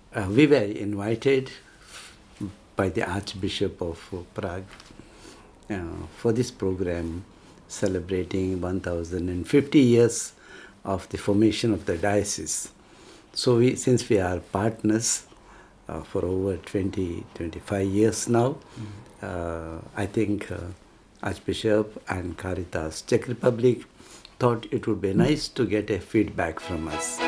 We were invited by the Archbishop of Prague for this program celebrating 1050 years of the formation of the diocese. So since we are partners for over 25 years now, I think Archbishop and Caritas Czech Republic thought it would be nice to get a feedback from us.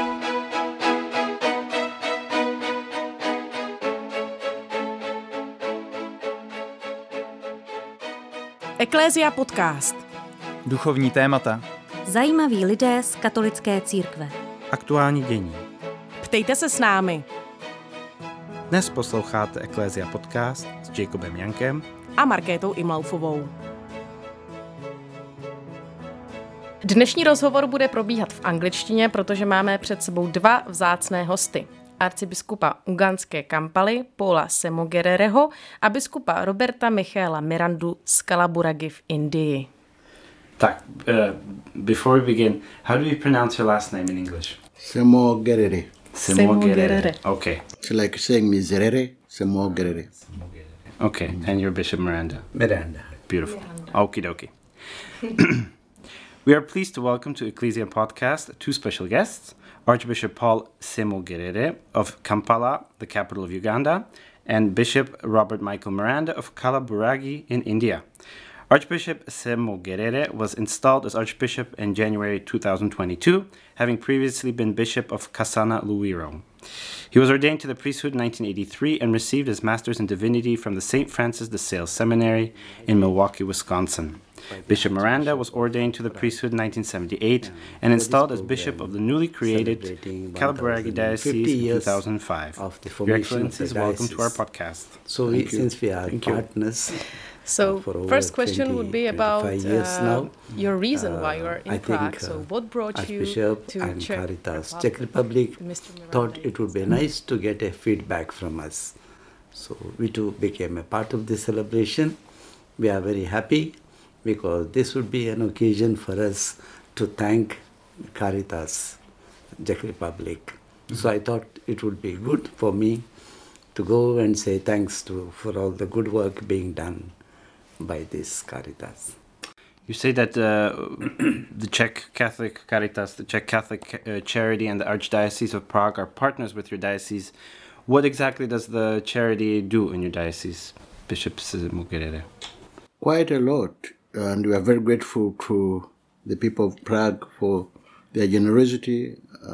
Eklézia podcast. Duchovní témata. Zajímaví lidé z katolické církve. Aktuální dění. Ptejte se s námi. Dnes posloucháte Eklézia podcast s Jacobem Jankem A Markétou Imlaufovou. Dnešní rozhovor bude probíhat v angličtině, protože máme před sebou dva vzácné hosty. Arcibiskupa ugandské Kampaly Paula Semogerereho a biskupa Roberta Michaela Mirandu z Kalaburagi v Indii. Tak, before we begin, how do you pronounce your last name in English? Semogerere. Semogerere. Okay. It's like saying miserere, Semogerere. Okay, and you're Bishop Miranda. Miranda. Beautiful. Okie dokie. We are pleased to welcome to Ecclesia Podcast two special guests, Archbishop Paul Semogerere of Kampala, the capital of Uganda, and Bishop Robert Michael Miranda of Kalaburagi in India. Archbishop Semogerere was installed as Archbishop in January 2022, having previously been Bishop of Kasana Luwiro. He was ordained to the priesthood in 1983 and received his Master's in Divinity from the St. Francis de Sales Seminary in Milwaukee, Wisconsin. Bishop Miranda was ordained to the priesthood in 1978 and installed as Bishop of the newly created Kalaburagi Diocese in 2005. Your Excellencies, welcome to our podcast. So since we are partners... So first question would be about your reason why you are in Prague. So what brought you to and Caritas Czech Republic thought it would be nice to get a feedback from us. So we too became a part of this celebration. We are very happy because this would be an occasion for us to thank Caritas Czech Republic. Mm-hmm. So I thought it would be good for me to go and say thanks for all the good work being done by this Caritas. You say that the Czech Catholic Caritas, the Czech Catholic Charity and the Archdiocese of Prague are partners with your diocese. What exactly does the charity do in your diocese, Bishop Semogerere? Quite a lot, and we are very grateful to the people of Prague for their generosity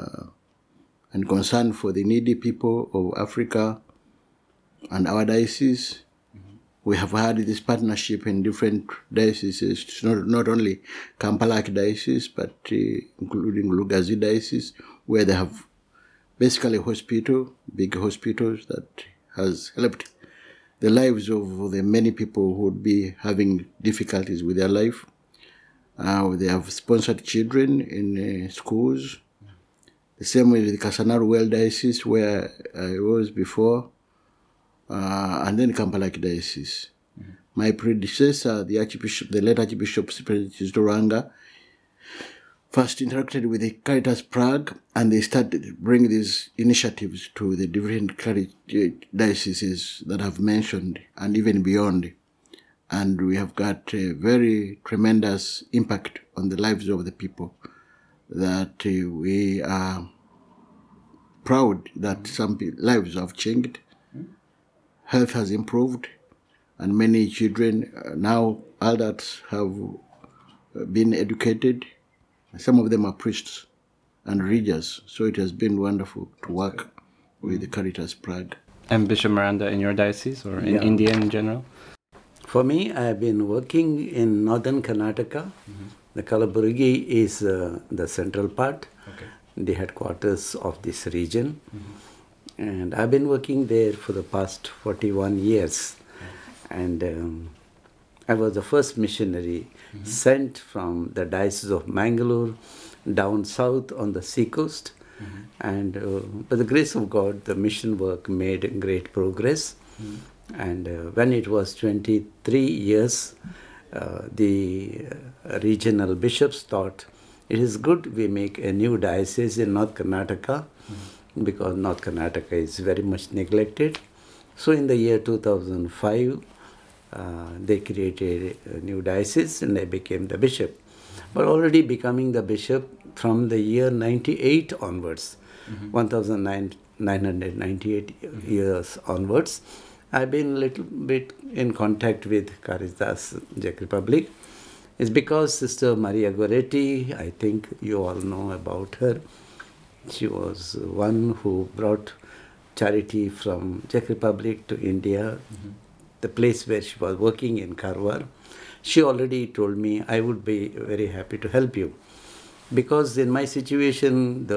and concern for the needy people of Africa and our diocese. We have had this partnership in different dioceses, not only Kampala Diocese, but including Lugazi Diocese, where they have basically big hospitals that has helped the lives of the many people who would be having difficulties with their life. They have sponsored children in schools. The same with the Kasana Well Diocese, where I was before. And then Kampala Diocese. Mm-hmm. My predecessor, the late Archbishop Doranga, first interacted with the Caritas Prague, and they started bringing these initiatives to the different dioceses that I've mentioned, and even beyond. And we have got a very tremendous impact on the lives of the people, that we are proud that some lives have changed. Health has improved, and many children, now adults, have been educated. Some of them are priests and readers, so it has been wonderful to work with the Caritas Prague. And Bishop Miranda in your diocese, or in India in general? For me, I have been working in northern Karnataka. Mm-hmm. The Kalaburagi is the central part, the headquarters of this region. Mm-hmm. And I've been working there for the past 41 years. And I was the first missionary sent from the Diocese of Mangalore down south on the seacoast. Mm-hmm. And by the grace of God, the mission work made great progress. Mm-hmm. And when it was 23 years, the regional bishops thought it is good we make a new diocese in North Karnataka. Mm-hmm. because North Karnataka is very much neglected. So in the year 2005, they created a new diocese and I became the bishop. But already becoming the bishop from the year 98 onwards, 1998 years onwards, I've been a little bit in contact with Caritas Czech Republic. It's because Sister Maria Goretti, I think you all know about her. She was one who brought charity from Czech Republic to India, the place where she was working in Karwar. She already told me I would be very happy to help you. Because in my situation,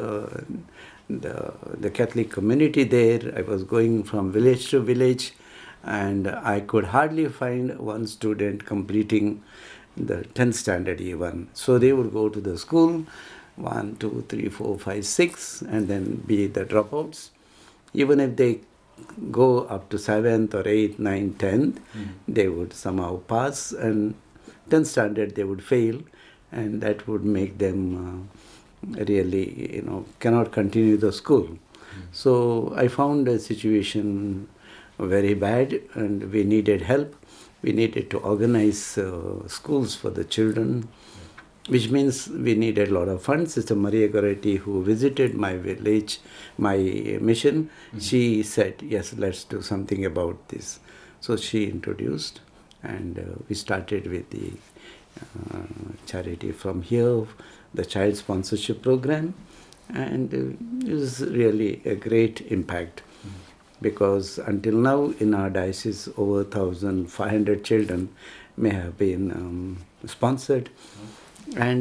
the Catholic community there, I was going from village to village and I could hardly find one student completing the 10th standard even. So they would go to the school, 1, 2, 3, 4, 5, 6, and then be the dropouts. Even if they go up to 7th or 8th, 9th, 10th, they would somehow pass, and 10th standard they would fail, and that would make them really, cannot continue the school. So I found the situation very bad, and we needed help. We needed to organize schools for the children, which means we needed a lot of funds. Sister Maria Goretti, who visited my village, my mission, she said, yes, let's do something about this. So she introduced, and we started with the charity from here, the child sponsorship program, and it was really a great impact. Because until now in our diocese over 1,500 children may have been sponsored. And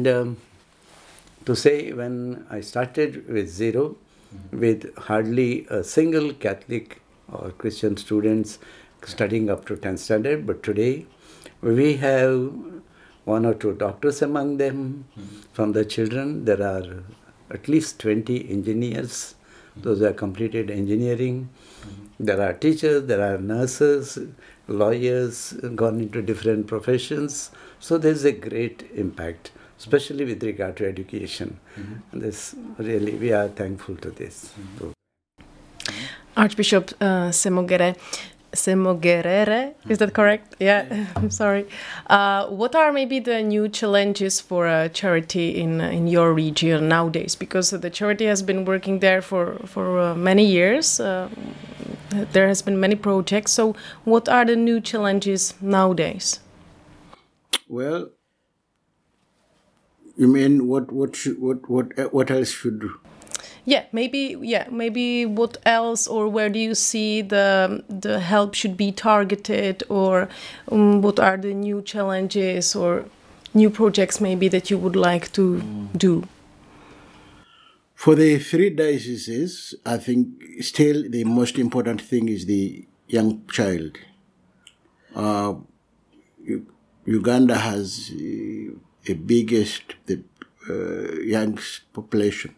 to say, when I started with zero, with hardly a single Catholic or Christian students studying up to 10th standard, but today we have 1 or 2 doctors among them. From the children, there are at least 20 engineers, those who have completed engineering. There are teachers, there are nurses, lawyers, gone into different professions. So there's a great impact, especially with regard to education. And this really, we are thankful to this. Archbishop Semogerere, is that correct? Yeah, I'm sorry. What are maybe the new challenges for charity in your region nowadays? Because the charity has been working there for many years. There has been many projects. So what are the new challenges nowadays? Well, you mean what else should? Yeah, maybe what else, or where do you see the help should be targeted, or what are the new challenges or new projects maybe that you would like to do? For the 3 dioceses, I think still the most important thing is the young child. Uganda has the biggest young population.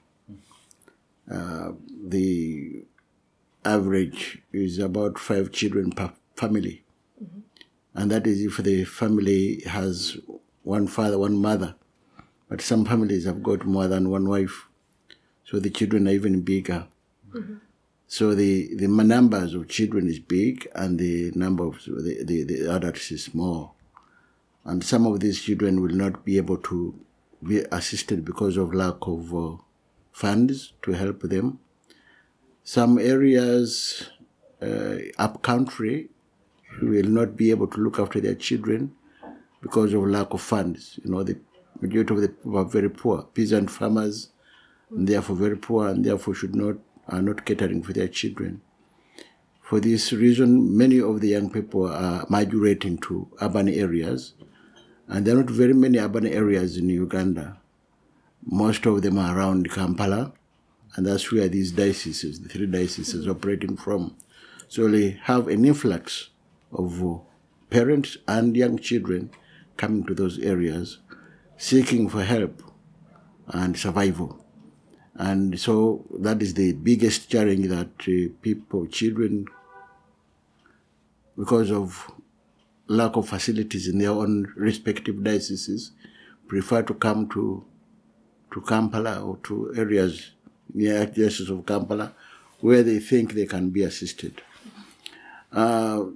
The average is about 5 children per family. And that is if the family has one father, one mother. But some families have got more than one wife. So the children are even bigger. So the numbers of children is big, and the number of the adults is small. And some of these children will not be able to be assisted because of lack of funds to help them. Some areas up country will not be able to look after their children because of lack of funds. The majority of the people are very poor, peasant farmers, and therefore very poor, and therefore are not catering for their children. For this reason, many of the young people are migrating to urban areas, and there are not very many urban areas in Uganda. Most of them are around Kampala, and that's where these dioceses, the 3 dioceses, operating from. So they have an influx of parents and young children coming to those areas, seeking for help and survival. And so that is the biggest challenge that children, because of lack of facilities in their own respective dioceses, prefer to come to Kampala or to areas near diocese of Kampala where they think they can be assisted. There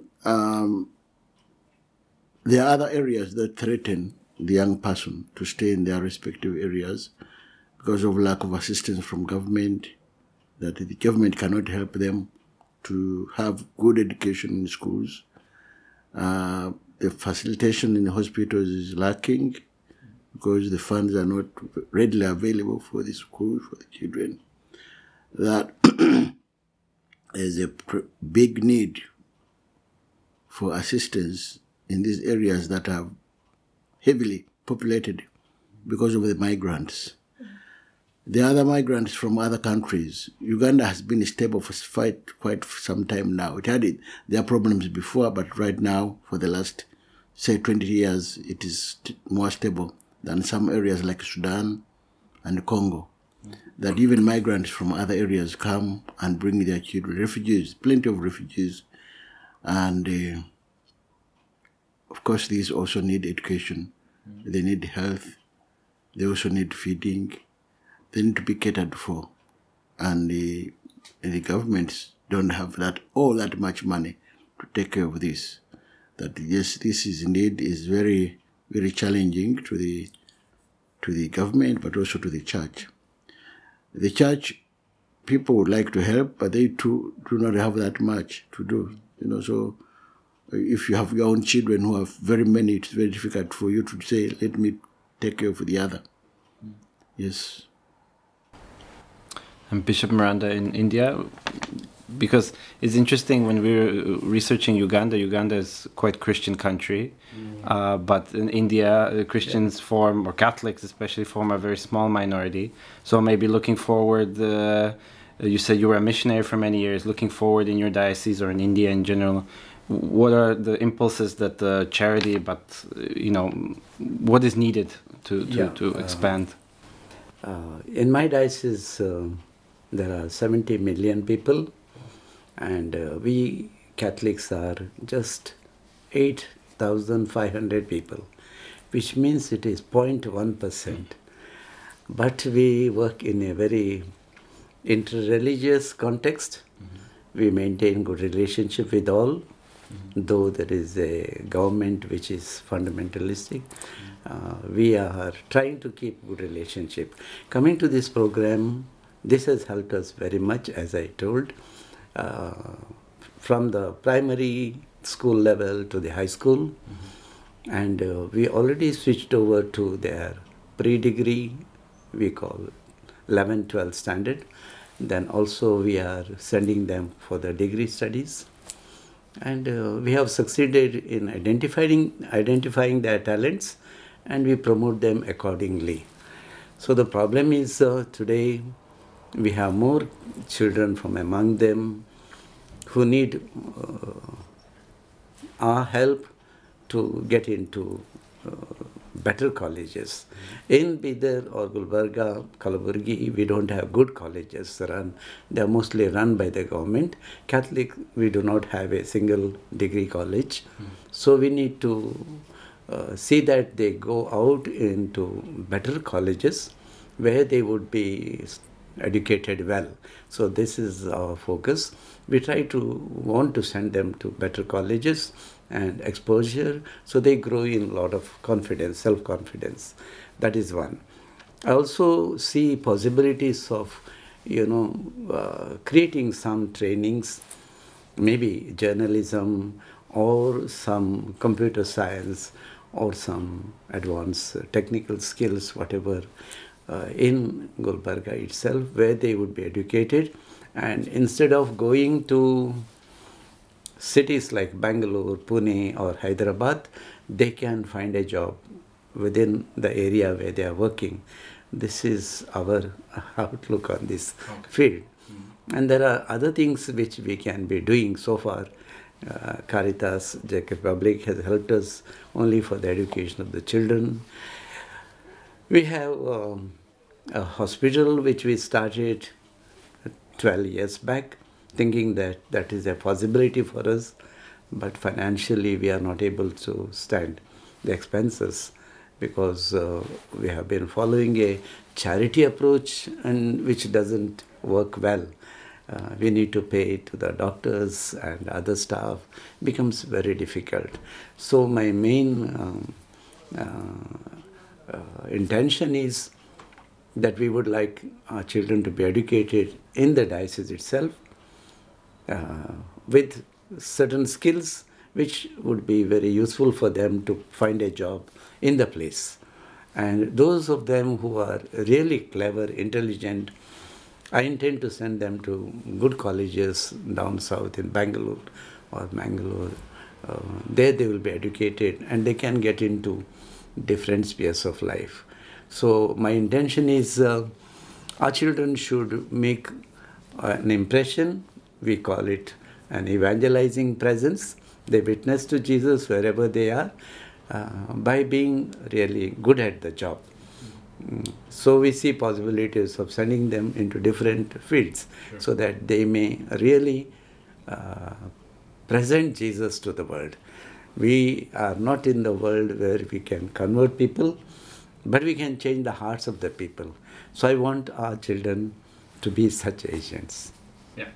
are other areas that threaten the young person to stay in their respective areas because of lack of assistance from government, that the government cannot help them to have good education in schools. The facilitation in the hospitals is lacking because the funds are not readily available for the schools, for the children. That there's a big need for assistance in these areas that are heavily populated because of the migrants. The other migrants from other countries, Uganda has been stable for quite some time now. It had their problems before, but right now, for the last, say, 20 years, it is more stable than some areas like Sudan and Congo. That even migrants from other areas come and bring their children, refugees, plenty of refugees. And of course, these also need education. They need health. They also need feeding. They need to be catered for. And the governments don't have all that much money to take care of this. That yes, this is indeed is very, very challenging to the government, but also to the church. The church, people would like to help, but they too do not have that much to do. So if you have your own children who have very many, it's very difficult for you to say, let me take care of the other. Yes. And Bishop Miranda in India, because it's interesting when we're researching Uganda is quite Christian country, but in India, Christians form, or Catholics especially, form a very small minority. So maybe looking forward, you said you were a missionary for many years, looking forward in your diocese or in India in general, what are the impulses that the charity, but what is needed to expand? In my diocese, there are 70 million people, and we Catholics are just 8,500 people, which means it is 0.1%. But we work in a very interreligious context. We maintain good relationship with all, though there is a government which is fundamentalistic. We are trying to keep good relationship. Coming to this program, this has helped us very much, as I told, from the primary school level to the high school. And we already switched over to their pre-degree, we call 11th, 12th standard. Then also we are sending them for the degree studies. And we have succeeded in identifying their talents, and we promote them accordingly. So the problem is today we have more children from among them who need our help to get into better colleges. In Bidar or Gulbarga, Kalaburgi, we don't have good colleges run. They are mostly run by the government. Catholic, we do not have a single degree college. So we need to see that they go out into better colleges where they would be educated well. So this is our focus. We want to send them to better colleges and exposure, so they grow in a lot of confidence, self-confidence. That is one. I also see possibilities of, creating some trainings, maybe journalism or some computer science or some advanced technical skills, whatever, in Gulbarga itself, where they would be educated. And instead of going to cities like Bangalore, Pune or Hyderabad, they can find a job within the area where they are working. This is our outlook on this field. And there are other things which we can be doing so far. Caritas, Czech Republic has helped us only for the education of the children. We have a hospital which we started 12 years back, thinking that that is a possibility for us, but financially we are not able to stand the expenses because we have been following a charity approach and which doesn't work well. we need to pay to the doctors and other staff. It becomes very difficult. So my main intention is that we would like our children to be educated in the diocese itself with certain skills which would be very useful for them to find a job in the place. And those of them who are really clever, intelligent, I intend to send them to good colleges down south in Bangalore or Mangalore. There they will be educated and they can get into different spheres of life. So my intention is our children should make an impression. We call it an evangelizing presence. They witness to Jesus wherever they are by being really good at the job. So we see possibilities of sending them into different fields so that they may really present Jesus to the world. We are not in the world where we can convert people, but we can change the hearts of the people. So I want our children to be such agents. Yeah.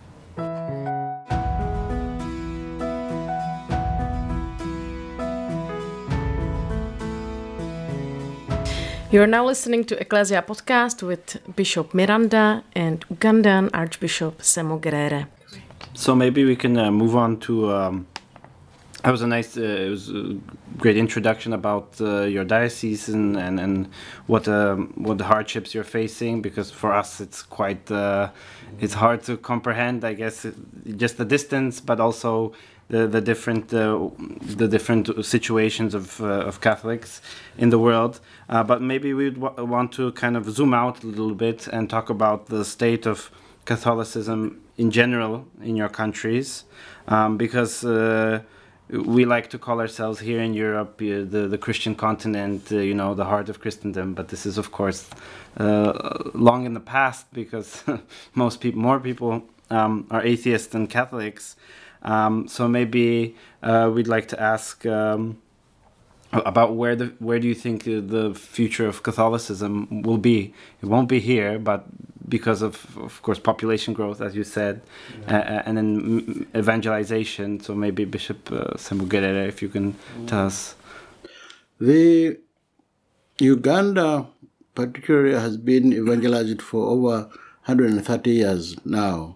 You're now listening to Ecclesia Podcast with Bishop Miranda and Ugandan Archbishop Semogerere. So maybe we can move on to. That was it was a great introduction about your diocese and what the hardships you're facing, because for us it's quite it's hard to comprehend, I guess, just the distance, but also the different situations of Catholics in the world. But maybe we'd want to kind of zoom out a little bit and talk about the state of Catholicism in general in your countries, because we like to call ourselves here in Europe the Christian continent, the heart of Christendom. But this is, of course, long in the past, because more people are atheists than Catholics. So maybe we'd like to ask about where do you think the future of Catholicism will be? It won't be here, but because of course, population growth, as you said, and then evangelization. So maybe Bishop Semogerere, if you can tell us. The Uganda particularly has been evangelized for over 130 years now.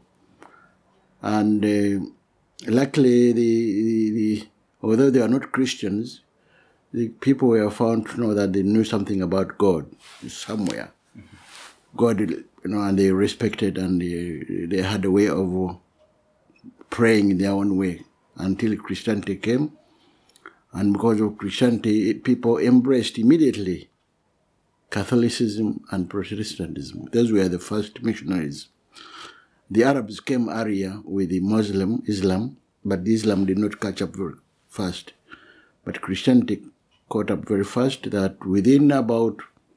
And luckily, although they are not Christians, the people were found to know that they knew something about God somewhere. Mm-hmm. God, and they respected, and they had a way of praying in their own way until Christianity came. And because of Christianity, people embraced immediately Catholicism and Protestantism. Those were the first missionaries. The Arabs came earlier with the Islam, but the Islam did not catch up very fast. But Christianity caught up very fast, that within about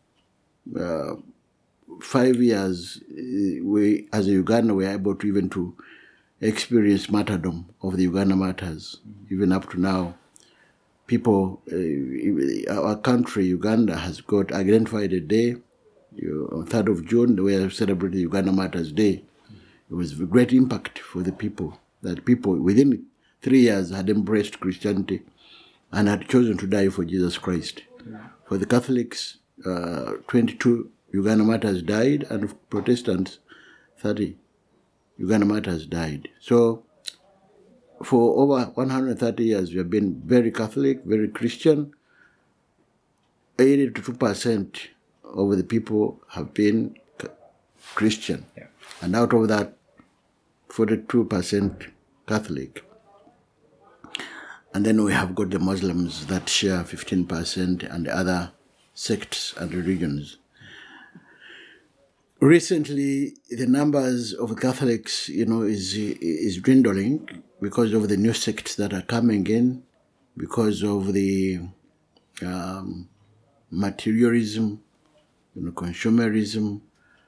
5 years, we, as a Uganda, were able to even to experience martyrdom of the Uganda martyrs. Mm-hmm. Even up to now, people, our country, Uganda, has got identified a day, on 3rd of June, we are celebrating the Uganda Martyrs Day. It was a great impact for the people, that people within 3 years had embraced Christianity and had chosen to die for Jesus Christ. Yeah. For the Catholics, 22 Uganda martyrs died, and Protestants, 30 Uganda martyrs died. So for over 130 years, we have been very Catholic, very Christian. 82% of the people have been Christian. Yeah. And out of that, 42% Catholic. And then we have got the Muslims that share 15%, and the other sects and religions. Recently, the numbers of Catholics, is dwindling because of the new sects that are coming in, because of the materialism, consumerism,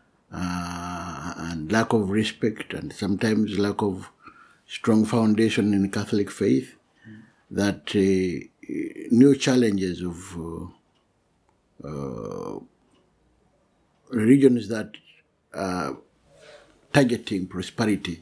and lack of respect, and sometimes lack of strong foundation in Catholic faith, that new challenges of religions that targeting prosperity,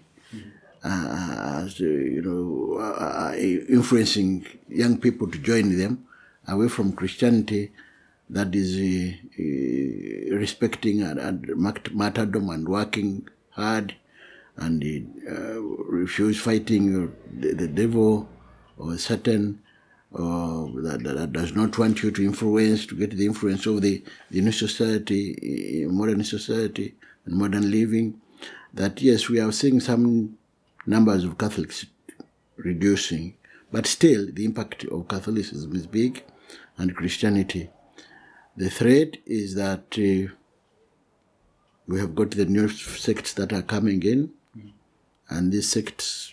influencing young people to join them away from Christianity that is respecting and martyrdom and working hard and refuse fighting the devil or Satan, that does not want you to get the influence of the new society, modern society and modern living. That yes, we are seeing some numbers of Catholics reducing, but still the impact of Catholicism is big, and Christianity. The threat is that we have got the new sects that are coming in, and these sects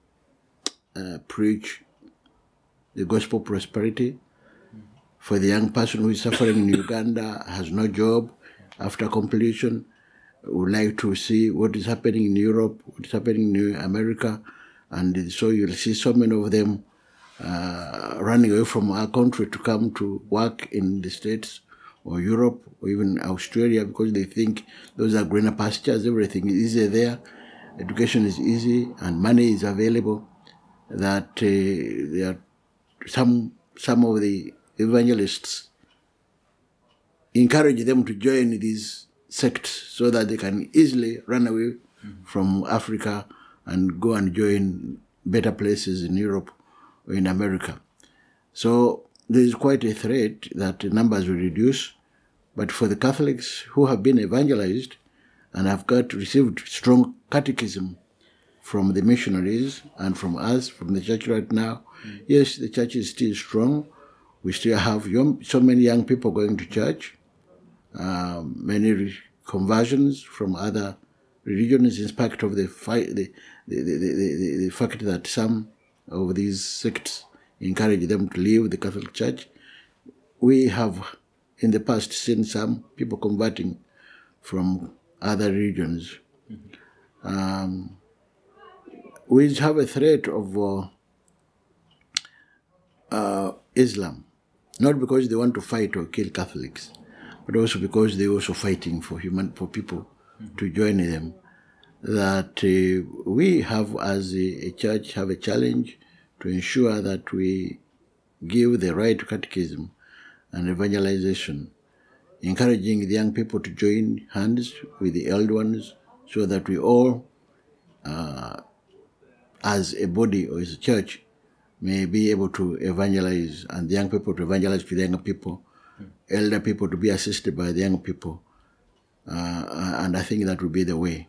preach the gospel prosperity. For the young person who is suffering in Uganda, has no job after completion, would like to see what is happening in Europe, what is happening in America, and so you'll see so many of them running away from our country to come to work in the States or Europe or even Australia, because they think those are greener pastures, everything is easy there, education is easy and money is available, that there are some of the evangelists encourage them to join these sects so that they can easily run away from Africa and go and join better places in Europe or in America. So there is quite a threat that the numbers will reduce. But for the Catholics who have been evangelized and have received strong catechism from the missionaries and from us, from the church right now, yes, the church is still strong. We still have so many young people going to church, many conversions from other religions, in spite of the fact that some of these sects encourage them to leave the Catholic Church. We have in the past seen some people converting from other religions. We have a threat of Islam, not because they want to fight or kill Catholics, but also because they're also fighting for people to join them. That we have, as a church, have a challenge to ensure that we give the right catechism and evangelization, encouraging the young people to join hands with the elder ones so that we all, as a body or as a church, may be able to evangelize, and the young people to evangelize to the younger people, elder people to be assisted by the young people. And I think that will be the way.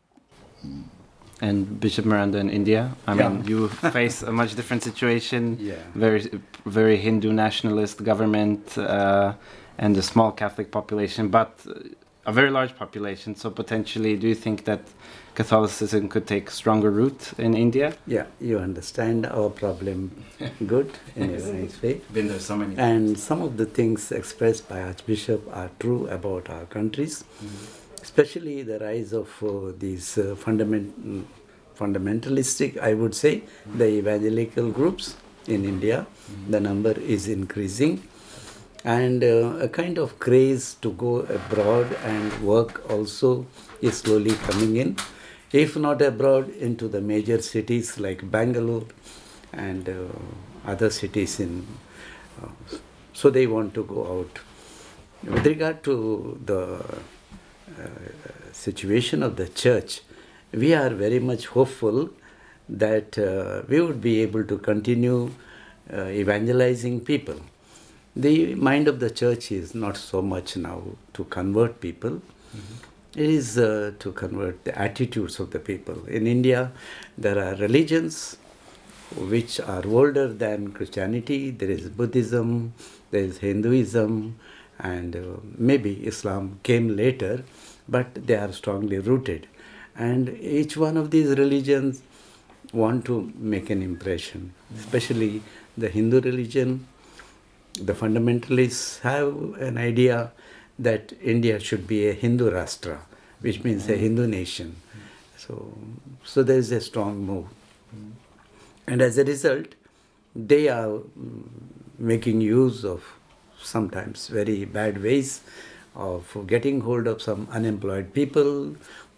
And Bishop Miranda in India, I mean, you face a much different situation, very, very Hindu nationalist government and a small Catholic population, but a very large population. So potentially, do you think that Catholicism could take stronger root in India? Yeah, you understand our problem good in a nice way. Been there so many times. And some of the things expressed by Archbishop are true about our countries. Especially the rise of these fundamentalistic, I would say, the evangelical groups in India. The number is increasing. And a kind of craze to go abroad and work also is slowly coming in. If not abroad, into the major cities like Bangalore and other cities so they want to go out. With regard to the situation of the church, we are very much hopeful that we would be able to continue evangelizing people. The mind of the church is not so much now to convert people. It is to convert the attitudes of the people. In India, there are religions which are older than Christianity. There is Buddhism, there is Hinduism, and maybe Islam came later, but they are strongly rooted. And each one of these religions want to make an impression, especially the Hindu religion. The fundamentalists have an idea that India should be a Hindu Rashtra, which means a Hindu nation. So there is a strong move. And as a result, they are making use of sometimes very bad ways of getting hold of some unemployed people,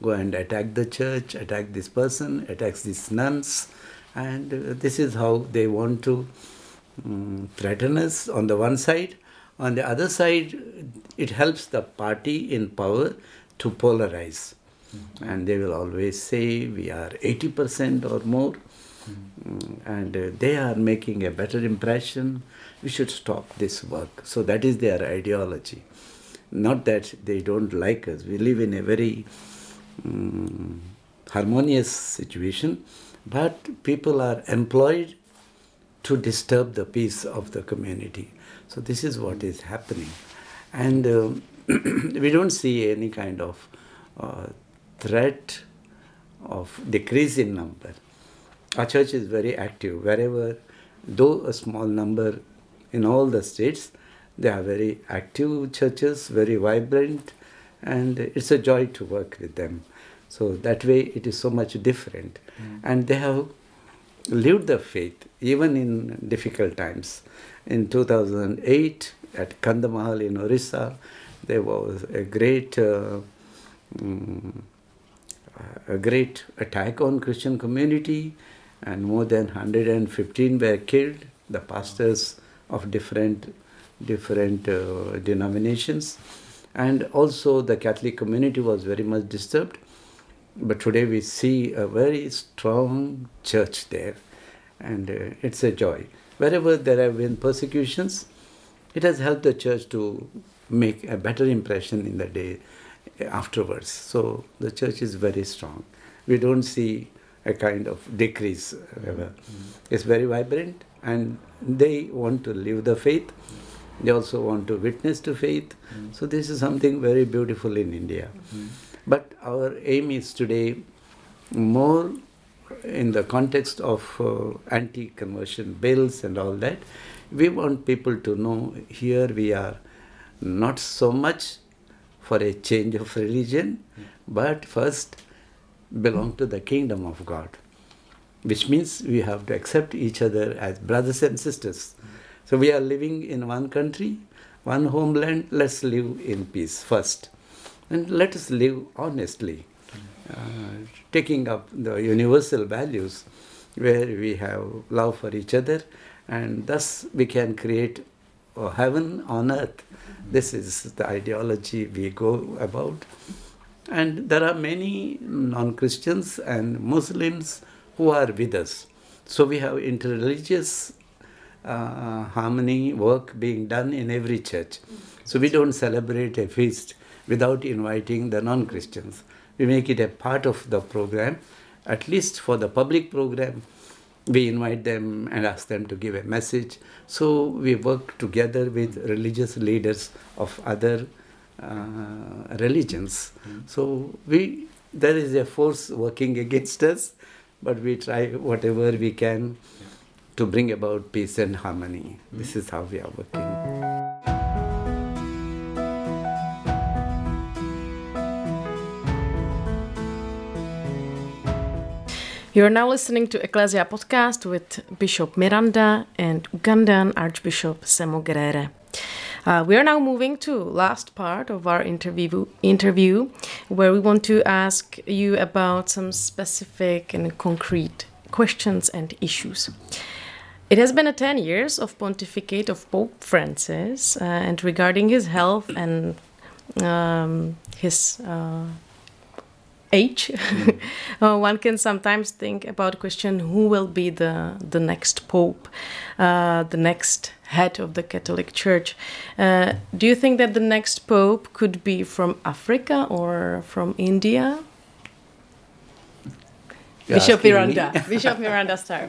go and attack the church, attack this person, attacks these nuns. And this is how they want to threaten us on the one side. On the other side, it helps the party in power to polarize. And they will always say we are 80% or more. And they are making a better impression. We should stop this work. So that is their ideology. Not that they don't like us. We live in a very harmonious situation, but people are employed to disturb the peace of the community. So this is what is happening. And we don't see any kind of threat of decrease in number. Our church is very active. Wherever, though a small number in all the states, they are very active churches, very vibrant, and it's a joy to work with them. So that way it is so much different. And they have lived the faith, even in difficult times. In 2008, at Kandamahal in Orissa, there was a great attack on Christian community, and more than 115 were killed, the pastors of different denominations. And also the Catholic community was very much disturbed. But today we see a very strong church there, and it's a joy. Wherever there have been persecutions, it has helped the church to make a better impression in the day afterwards. So the church is very strong. We don't see a kind of decrease. It's very vibrant, and they want to live the faith. They also want to witness to faith. So this is something very beautiful in India. But our aim is today more in the context of anti-conversion bills and all that. We want people to know here we are not so much for a change of religion, but first belong to the kingdom of God, which means we have to accept each other as brothers and sisters. So we are living in one country, one homeland. Let's live in peace first. And let us live honestly, taking up the universal values where we have love for each other, and thus we can create a heaven on earth. This is the ideology we go about. And there are many non-Christians and Muslims who are with us. So we have interreligious harmony work being done in every church. So we don't celebrate a feast without inviting the non-Christians. We make it a part of the program. At least for the public program, we invite them and ask them to give a message. So we work together with religious leaders of other religions. So there is a force working against us, but we try whatever we can to bring about peace and harmony. This is how we are working. You are now listening to Ecclesia Podcast with Bishop Miranda and Ugandan Archbishop Semogerere. We are now moving to last part of our interview, where we want to ask you about some specific and concrete questions and issues. It has been 10 years of pontificate of Pope Francis, and regarding his health and his age, one can sometimes think about the question, who will be the next Pope, the next head of the Catholic Church. Do you think that the next Pope could be from Africa or from India? Bishop Miranda, start.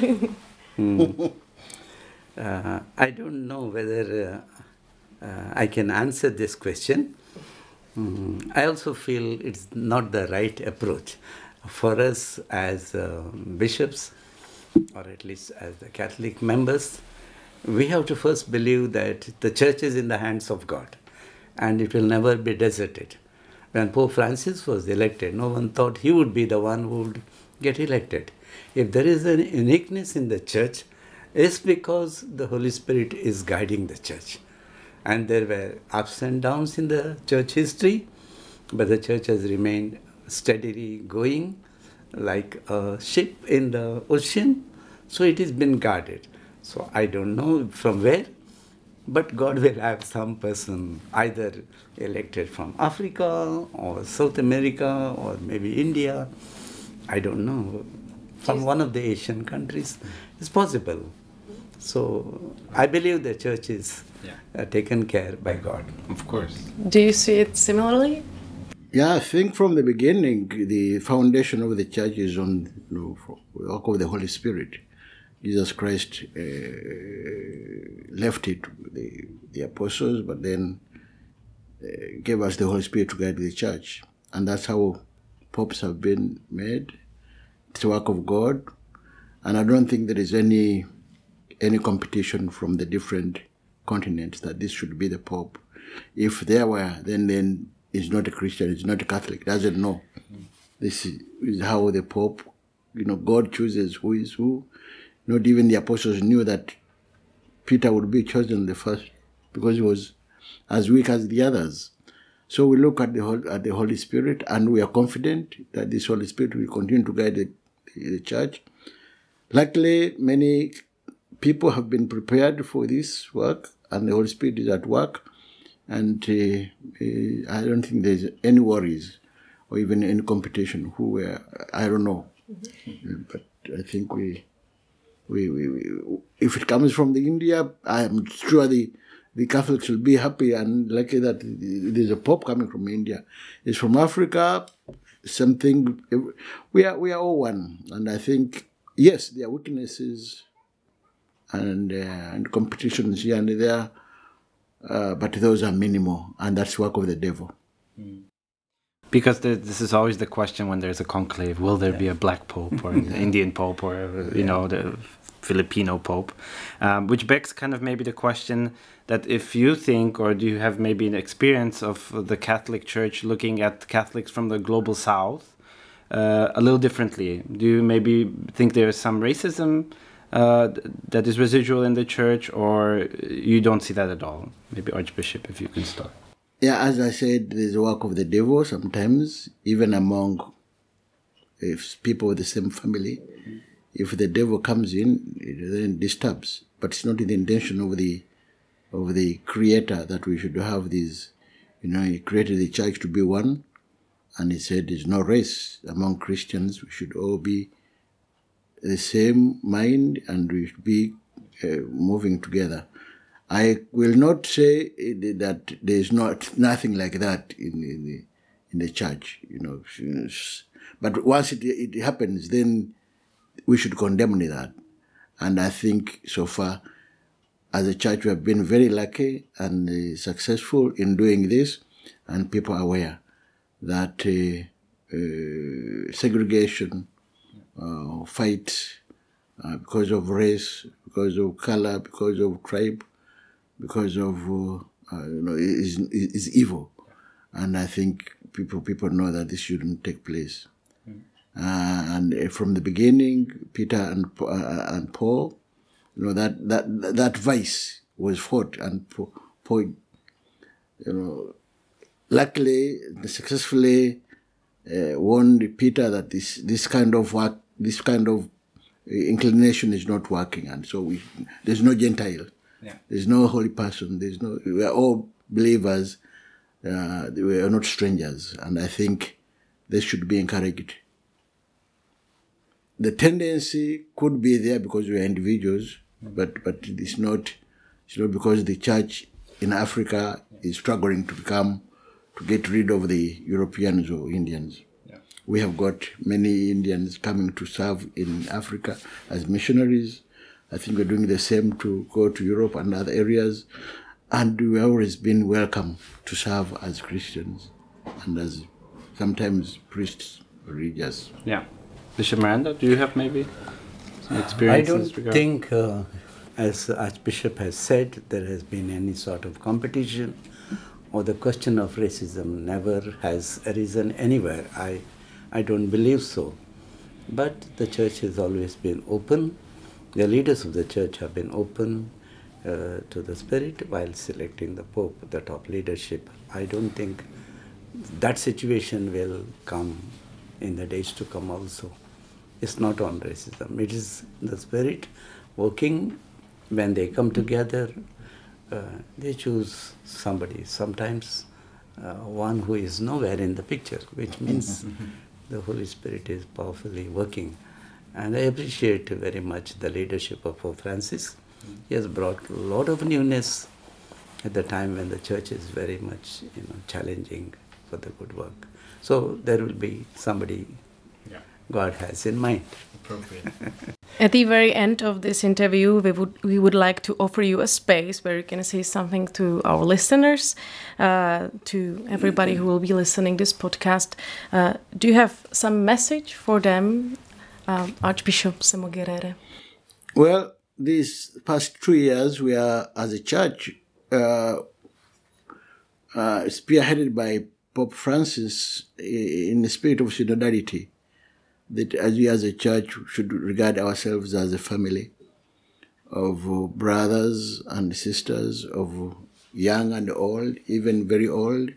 I don't know whether I can answer this question. I also feel it's not the right approach for us as bishops, or at least as the Catholic members. We have to first believe that the church is in the hands of God and it will never be deserted. When Pope Francis was elected, no one thought he would be the one who would get elected. If there is a uniqueness in the church, it's because the Holy Spirit is guiding the church. And there were ups and downs in the church history, but the church has remained steadily going like a ship in the ocean. So it has been guarded. So I don't know from where, but God will have some person either elected from Africa or South America or maybe India. I don't know. From one of the Asian countries. It's possible. So I believe the church is taken care by God. Of course. Do you see it similarly? Yeah, I think from the beginning, the foundation of the church is on the work of the Holy Spirit. Jesus Christ left it with the apostles, but then gave us the Holy Spirit to guide the church. And that's how popes have been made. It's the work of God. And I don't think there is any competition from the different continents that this should be the Pope. If there were, then he's not a Christian, he's not a Catholic, doesn't know. This is how the Pope, God chooses who is who. Not even the apostles knew that Peter would be chosen the first because he was as weak as the others. So we look at the Holy Spirit, and we are confident that this Holy Spirit will continue to guide the church. Luckily, many people have been prepared for this work, and the Holy Spirit is at work. And I don't think there's any worries or even any competition. I don't know. Mm-hmm. But I think we if it comes from the India, I am sure the Catholics will be happy and lucky that there's a Pope coming from India. It's from Africa, something. We are all one, and I think yes, there are weaknesses and competitions here and there, but those are minimal, and that's work of the devil. Because this is always the question when there's a conclave: will there be a black pope or an Indian pope or the Filipino pope? Which begs kind of maybe the question that if you think, or do you have maybe an experience of the Catholic Church looking at Catholics from the global South a little differently? Do you maybe think there is some racism that is residual in the church, or you don't see that at all? Maybe Archbishop, if you can start. Yeah, as I said, there's a work of the devil sometimes, even among people with the same family. If the devil comes in, it then disturbs. But it's not in the intention of the Creator that we should have these. He created the church to be one, and he said there's no race among Christians. We should all be the same mind, and we should be moving together. I will not say that there's nothing like that in the church, But once it happens, then we should condemn that. And I think so far, as a church, we have been very lucky and successful in doing this, and people are aware that segregation, fights because of race, because of color, because of tribe, because of is evil, and I think people know that this shouldn't take place. And from the beginning, Peter and Paul, that vice was fought, and Paul, luckily, successfully warned Peter that this kind of work, this kind of inclination is not working, and so there's no Gentile. Yeah. There's no holy person. We are all believers. We are not strangers, and I think this should be encouraged. The tendency could be there because we are individuals, but it's not because the church in Africa is struggling to get rid of the Europeans or Indians. Yeah. We have got many Indians coming to serve in Africa as missionaries. I think we're doing the same to go to Europe and other areas. And we've always been welcome to serve as Christians and as sometimes priests or religious. Yeah. Bishop Miranda, do you have maybe some experiences? I don't think, as Archbishop has said, there has been any sort of competition, or the question of racism never has arisen anywhere. I don't believe so. But the church has always been open. The leaders of the church have been open to the Spirit while selecting the Pope, the top leadership. I don't think that situation will come in the days to come also. It's not on racism. It is the spirit working. When they come together, they choose somebody. Sometimes one who is nowhere in the picture, which means the Holy Spirit is powerfully working. And I appreciate very much the leadership of Pope Francis. He has brought a lot of newness at the time when the church is very much challenging for the good work. So there will be somebody God has in mind. Appropriate. At the very end of this interview, we would like to offer you a space where you can say something to our listeners, to everybody who will be listening this podcast. Do you have some message for them, Archbishop Semogerere? Well, these past 2 years, we are, as a church, spearheaded by Pope Francis in the spirit of synodality, that as we as a church should regard ourselves as a family of brothers and sisters, of young and old, even very old,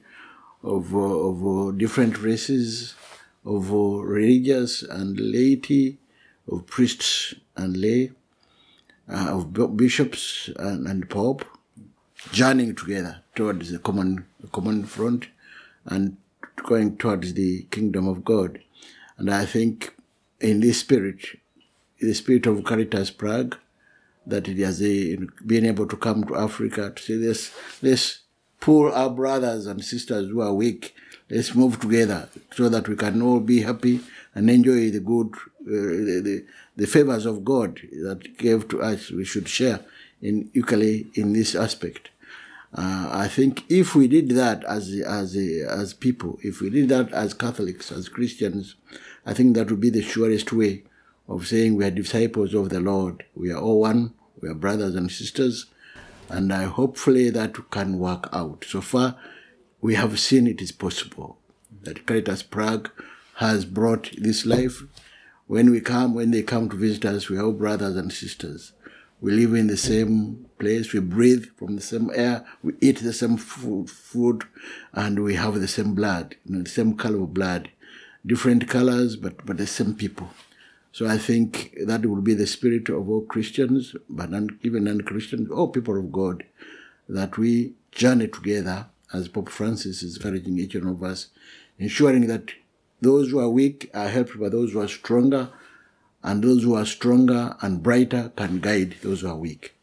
of different races, of religious and laity, of priests and lay, of bishops and pope, journeying together towards the common front and going towards the kingdom of God. And I think in this spirit, the spirit of Caritas Prague, that it has been able to come to Africa to say, let's pull our brothers and sisters who are weak, let's move together so that we can all be happy and enjoy the good, the favors of God that gave to us. We should share equally in this aspect. I think if we did that as people, if we did that as Catholics, as Christians, I think that would be the surest way of saying we are disciples of the Lord. We are all one. We are brothers and sisters. And hopefully that can work out. So far, we have seen it is possible. That Caritas Prague has brought this life. When they come to visit us, we are all brothers and sisters. We live in the same place, we breathe from the same air, we eat the same food, and we have the same blood, the same color of blood. Different colors, but the same people. So I think that will be the spirit of all Christians, but even non-Christians, all people of God, that we journey together, as Pope Francis is encouraging each one of us, ensuring that those who are weak are helped by those who are stronger, and those who are stronger and brighter can guide those who are weak.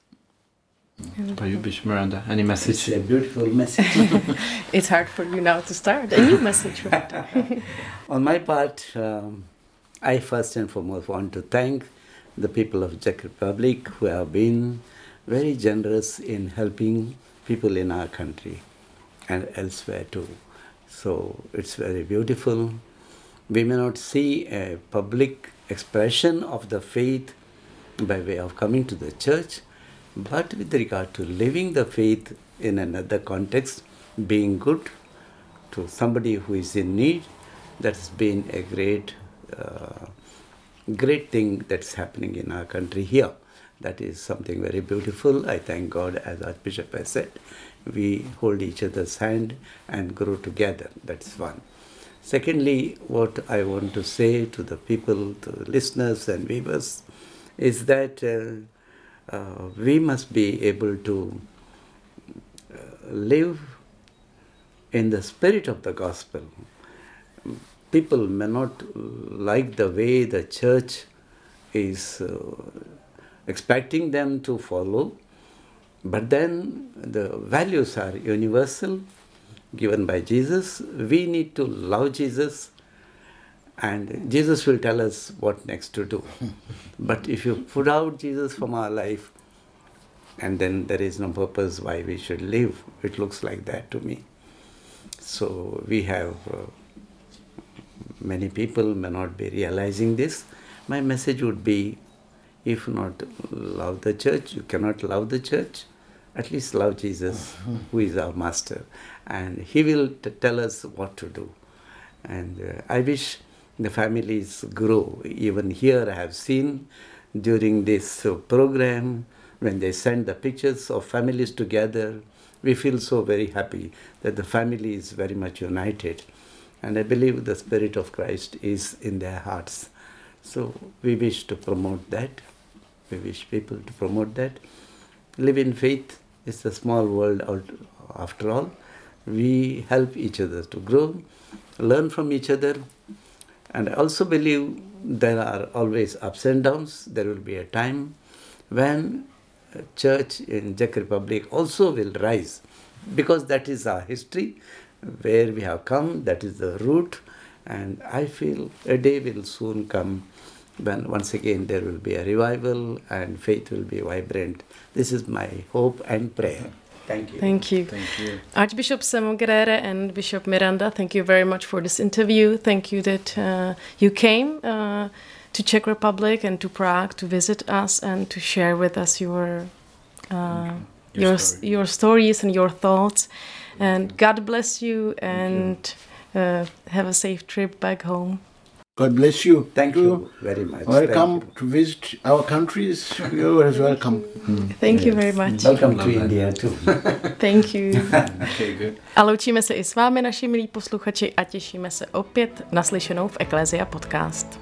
By you, Bishop Miranda, any message? It's a beautiful message. It's hard for you now to start a new message, right? On my part, I first and foremost want to thank the people of Czech Republic who have been very generous in helping people in our country and elsewhere too. So it's very beautiful. We may not see a public expression of the faith by way of coming to the church, but with regard to living the faith in another context, being good to somebody who is in need, that's been a great thing that's happening in our country here. That is something very beautiful. I thank God, as Archbishop has said, we hold each other's hand and grow together. That's one. Secondly, what I want to say to the people, to the listeners and viewers, is that we must be able to live in the spirit of the gospel. People may not like the way the church is expecting them to follow, but then the values are universal, given by Jesus. We need to love Jesus, and Jesus will tell us what next to do. But if you put out Jesus from our life, and then there is no purpose why we should live. It looks like that to me. So we have many people may not be realizing this. My message would be, if not love the church, you cannot love the church, at least love Jesus, who is our master. And he will tell us what to do. And I wish the families grow. Even here I have seen during this program, when they send the pictures of families together we feel so very happy that the family is very much united. And I believe the Spirit of Christ is in their hearts. So we wish to promote that. We wish people to promote that. Live in faith. It's a small world after all. We help each other to grow, learn from each other. And I also believe there are always ups and downs. There will be a time when church in Czech Republic also will rise, because that is our history, where we have come, that is the root. And I feel a day will soon come when once again there will be a revival and faith will be vibrant. This is my hope and prayer. Thank you. Thank you. Thank you. Archbishop Semogerere and Bishop Miranda, thank you very much for this interview. Thank you that you came to Czech Republic and to Prague to visit us and to share with us your stories and your thoughts. And God bless you and have a safe trip back home. God bless you. Thank you very much. Welcome to visit our countries. You are welcome. Thank you very much. Welcome to India too. Thank you. Okay, good. A loučíme se i s vámi, naši milí posluchači, a těšíme se opět naslyšenou v Ecclesia Podcast.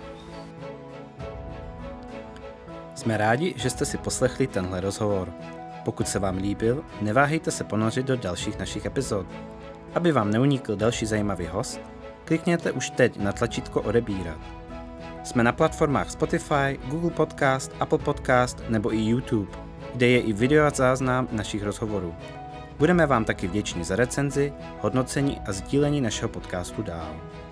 Jsme rádi, že jste si poslechli tenhle rozhovor. Pokud se vám líbil, neváhejte se ponořit do dalších našich epizod. Aby vám neunikl další zajímavý host, klikněte už teď na tlačítko odebírat. Jsme na platformách Spotify, Google Podcast, Apple Podcast nebo i YouTube, kde je i video a záznam našich rozhovorů. Budeme vám taky vděční za recenzi, hodnocení a sdílení našeho podcastu dál.